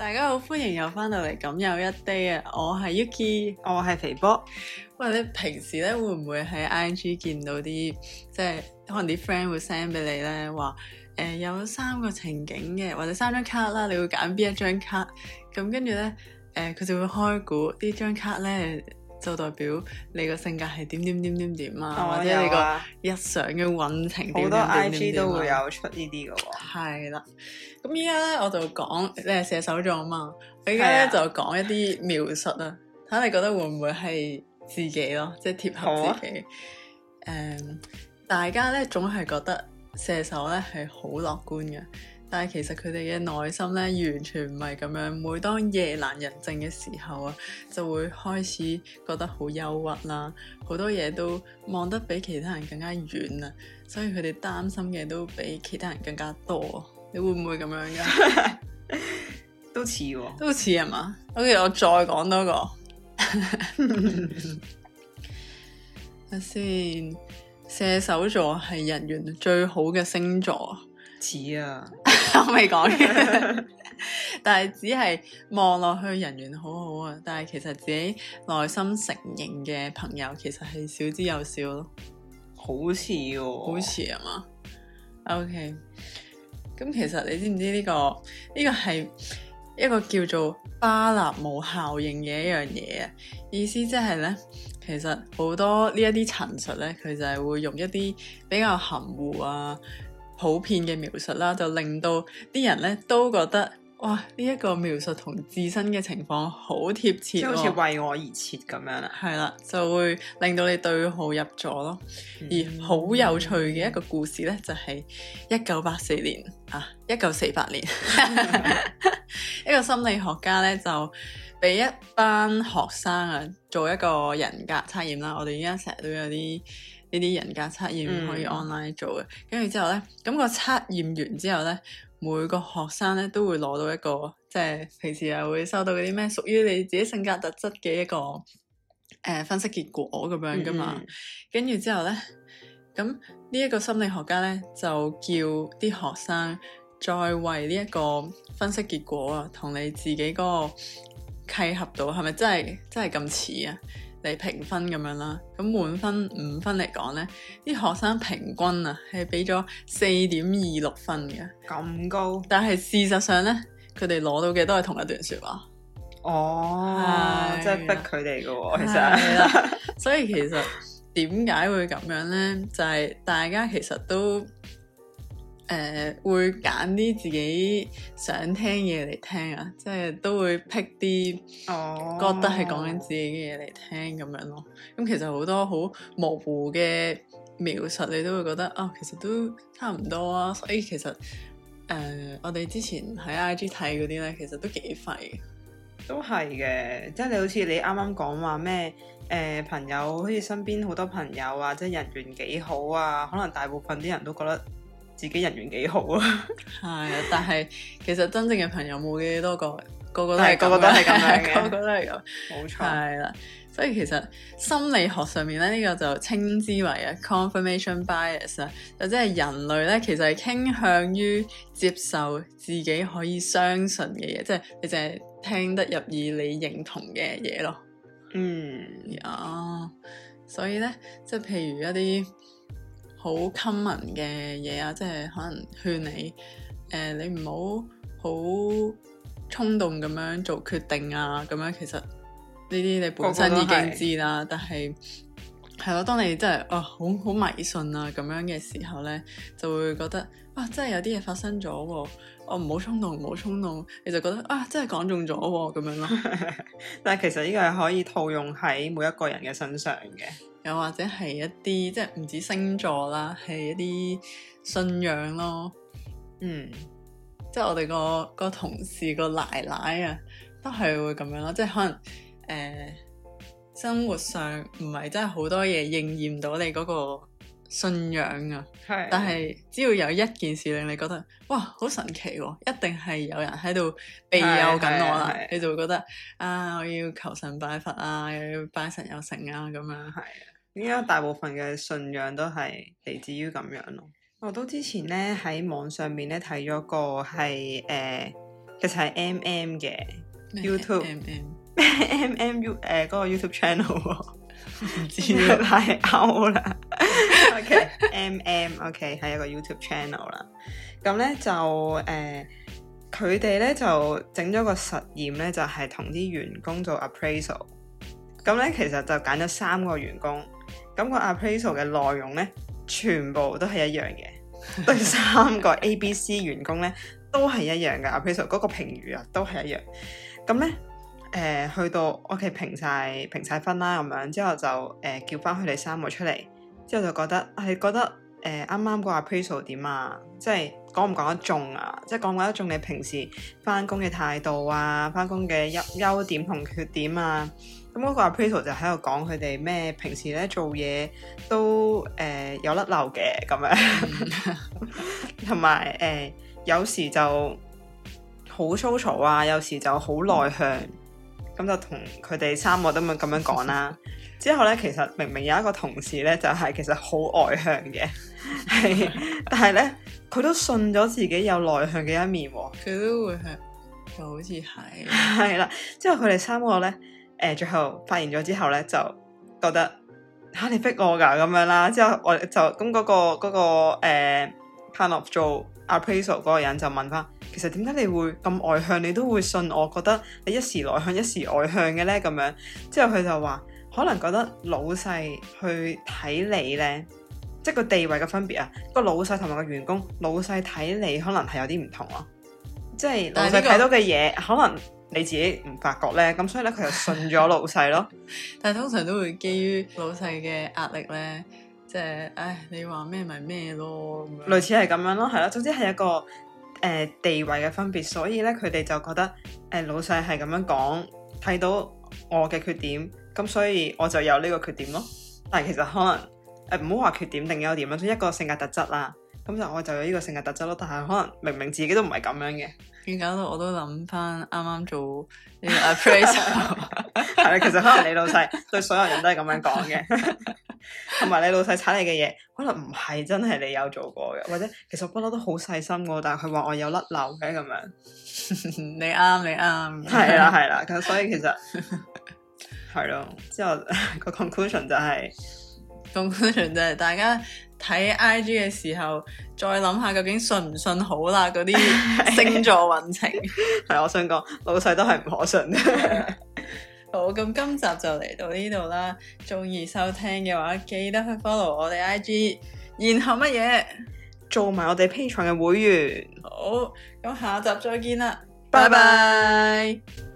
大家好，歡迎又翻到嚟咁有一 day 啊！我係 Yuki， 我係肥波。 喂，你平時咧會唔會喺 IG 見到啲即係可能啲 friend 會 send 俾你咧話有3個情景嘅，或者3張卡啦，你會揀邊一張卡？咁跟住咧佢就會開估呢張卡咧就代表你個性格係點啊，或者你個日常嘅運程點。 好多 IG 都會有出呢啲嘅喎。 係啦，咁依家咧我就講你係射手座啊嘛，我依家咧就講一啲描述啊，睇下你覺得會唔會係自己咯，即係貼合自己。大家咧總係覺得射手咧係好樂觀嘅，但係其實佢哋嘅內心咧完全唔係咁樣。每當夜闌人靜嘅時候啊，就會開始覺得好憂鬱啦，好多嘢都望得比其他人更加遠啊，所以佢哋擔心嘅都比其他人更加多。你會唔會咁樣噶？ 都似喎， 都似係嘛？OK，我再講多個。睇先，射手座係人緣最好嘅星座。 似啊， 我未講嘅，但係只係望落去人緣好好啊，但係其實自己內心承認嘅朋友其實係少之又少咯。 好似喎， 好似係嘛？OK。咁其實你知唔知呢個係一個叫做巴納姆效應嘅一樣嘢啊？意思即係咧，其實好多呢一啲陳述咧，佢就係會用一啲比較含糊啊、普遍嘅描述啦，就令到啲人咧都覺得哇，呢一個描述同自身嘅情況好貼切， 即係好似為我而設咁樣啦。 係啦，就會令到你對號入座咯。而好有趣嘅一個故事咧，就係1984年啊，1948年，一個心理學家咧就俾一班學生啊做一個人格測驗啦。我哋而家成日都有啲呢啲人格測驗可以 online 做嘅。跟住之後咧，咁個測驗完之後咧，每個學生咧都會攞到一個，即係平時又會收到嗰啲咩屬於你自己性格特質嘅一個分析結果咁樣噶嘛。跟住之後咧，咁呢一個心理學家咧就叫啲學生再為呢一個分析結果啊，同你自己嗰個契合度係咪真係咁似啊，嚟評分咁樣啦。咁滿分5分嚟講咧，啲學生平均啊係俾咗4.26分嘅， 咁高。 但係事實上咧，佢哋攞到嘅都係同一段說話。 哦，即係逼佢哋嘅喎，其實。 係啦，所以其實點解會咁樣咧？就係大家其實都會揀啲自己想聽嘢嚟聽啊，即係都會 pick 啲覺得係講緊自己嘅嘢嚟聽咁樣咯。咁其實好多好模糊嘅描述，你都會覺得啊，其實都差唔多啊。所以其實我哋之前喺 IG 睇嗰啲咧，其實都幾廢嘅。 都係嘅，即係你好似你啱啱講話咩朋友，好似身邊好多朋友啊，即係人緣幾好啊，可能大部分啲人都覺得自己人緣幾好啊。 係啊，但係其實真正嘅朋友冇幾多個，個個都係咁樣嘅， 個個都係咁， 冇錯。 係啦，所以其實心理學上面咧，呢個就稱之為啊 confirmation bias 啊，就即係人類咧其實係傾向於接受自己可以相信嘅嘢，即係你淨係聽得入耳你認同嘅嘢咯。所以咧，即係譬如一啲好 common 嘅嘢啊，即係可能勸你你唔好好衝動咁樣做決定啊，咁樣其實呢啲你本身已經知啦，但係係咯，當你真係好迷信啊咁樣嘅時候咧，就會覺得真係有啲嘢發生咗喎，唔好衝動，你就覺得真係講中咗喎咁樣咯。 但係其實呢個係可以套用喺每一個人嘅身上嘅， 又或者係一啲即係唔止星座啦，係一啲信仰咯。即係我哋個同事個奶奶啊，都係會咁樣咯，即係可能生活上唔係真係好多嘢應驗到你嗰個信仰啊，但係只要有一件事令你覺得哇好神奇喎，一定係有人喺度庇佑緊我啦，你就會覺得我要求神拜佛啊，又要拜神有成啊咁樣。 係啊，應該大部分嘅信仰都係嚟自於咁樣咯。我都之前咧喺網上面咧睇咗個係其實係 MM 嘅 YouTube MM 嗰個 YouTube channel 喎。 唔知啊， 太 out 啦。OK， 係一個 YouTube channel 啦。咁咧就佢哋咧就整咗個實驗咧，就係同啲員工做 appraisal。咁咧其實就揀咗3個員工，咁個 appraisal 嘅內容咧全部都係一樣嘅，對3個 ABC 員工咧都係一樣嘅 appraisal 嗰個評語啊，都係一樣。咁咧。去到 OK 評晒分啦，咁樣之後就叫翻佢哋3個出嚟，之後就覺得啱啱個 appraisal 點啊，即係講唔講得中啊，即係講唔講得中你平時翻工嘅態度啊，翻工嘅優點同缺點啊，咁嗰個 appraisal 就喺度講佢哋咩平時咧做嘢都有甩漏嘅咁樣，同埋有時就好粗嘈啊，有時就好內向。咁就同佢哋3個都咁樣講啦。之後咧，其實明明有一個同事咧，就係其實好外向嘅，係，但係咧佢都信咗自己有內向嘅一面喎。 佢都會係，就好似係， 係啦。之後佢哋3個咧，最後發現咗之後咧，就覺得嚇你逼我㗎咁樣啦。之後我就咁嗰個kind of 做 appraisal 嗰個人就問翻。其實點解你會咁外向？你都會信我覺得你一時內向一時外向嘅咧咁樣。之後佢就話可能覺得老細去睇你咧，即係個地位嘅分別啊。個老細同埋個員工，老細睇你可能係有啲唔同咯。即係老細睇到嘅嘢，可能你自己唔發覺咧。咁所以咧，佢就信咗老細咯。 但係通常都會基於老細嘅壓力咧，即係唉，你話咩咪咩咯咁樣。 類似係咁樣咯，係咯。總之係一個。地位嘅分別，所以咧佢哋就覺得老細係咁樣講，睇到我嘅缺點，咁所以我就有呢個缺點咯。但係其實可能唔好話缺點定優點啦，一個性格特質啦，咁就我就有呢個性格特質咯。但係可能明明自己都唔係咁樣嘅， 而搞到我都諗翻啱啱做呢個 appraisal， 係啦，其實可能你老細對所有人都係咁樣講嘅。同埋你老細踩你嘅嘢，可能唔係真係你有做過嘅，或者其實我不嬲都好細心嘅，但係佢話我有甩漏嘅咁樣。 你啱， 係啦，咁所以其實係咯，之後個 conclusion 就係大家睇 IG 嘅時候，再諗下究竟信唔信好啦，嗰啲星座運程。 係我想講，老細都係唔可信嘅。 好，咁今集就嚟到呢度啦。鍾意收聽嘅話，記得去 follow 我哋 IG， 然後乜嘢做埋我哋 Patreon 嘅會員。 好，咁下集再見啦， 拜拜。